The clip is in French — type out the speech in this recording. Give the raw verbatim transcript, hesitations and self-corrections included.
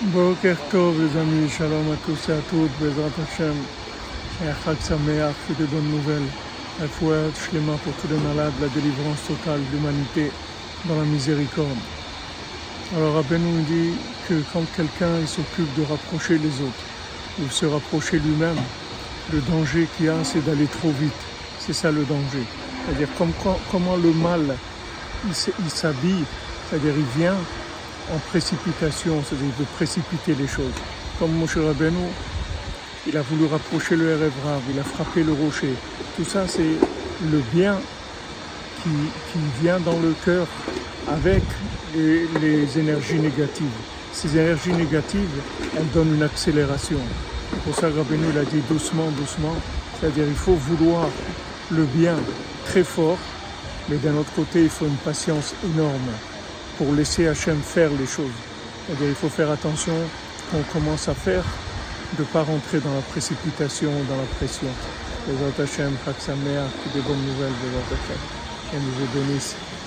Boker Tov les amis, shalom à tous et à toutes, Bezrat Hashem, et un Chag Sameach, que de bonnes nouvelles, la foi shlema pour tous les malades, la délivrance totale de l'humanité dans la miséricorde. Alors Rabbeinu nous dit que quand quelqu'un il s'occupe de rapprocher les autres, ou se rapprocher lui-même, le danger qu'il y a c'est d'aller trop vite, c'est ça le danger. C'est-à-dire comme, comment le mal il s'habille, c'est-à-dire il vient en précipitation, c'est-à-dire de précipiter les choses. Comme Moshe Rabbeinu, il a voulu rapprocher le Erev Rav, il a frappé le rocher. Tout ça, c'est le bien qui, qui vient dans le cœur avec les, les énergies négatives. Ces énergies négatives, elles donnent une accélération. C'est pour ça que Rabbeinu il a dit doucement, doucement. C'est-à-dire il faut vouloir le bien très fort, mais d'un autre côté, il faut une patience énorme pour laisser Hachem faire les choses. C'est-à-dire il faut faire attention qu'on commence à faire, de ne pas rentrer dans la précipitation, dans la pression. Bezrat Hachem, Chag Sameach, des bonnes nouvelles, Bezrat Hachem. Qu'elle nous bénisse.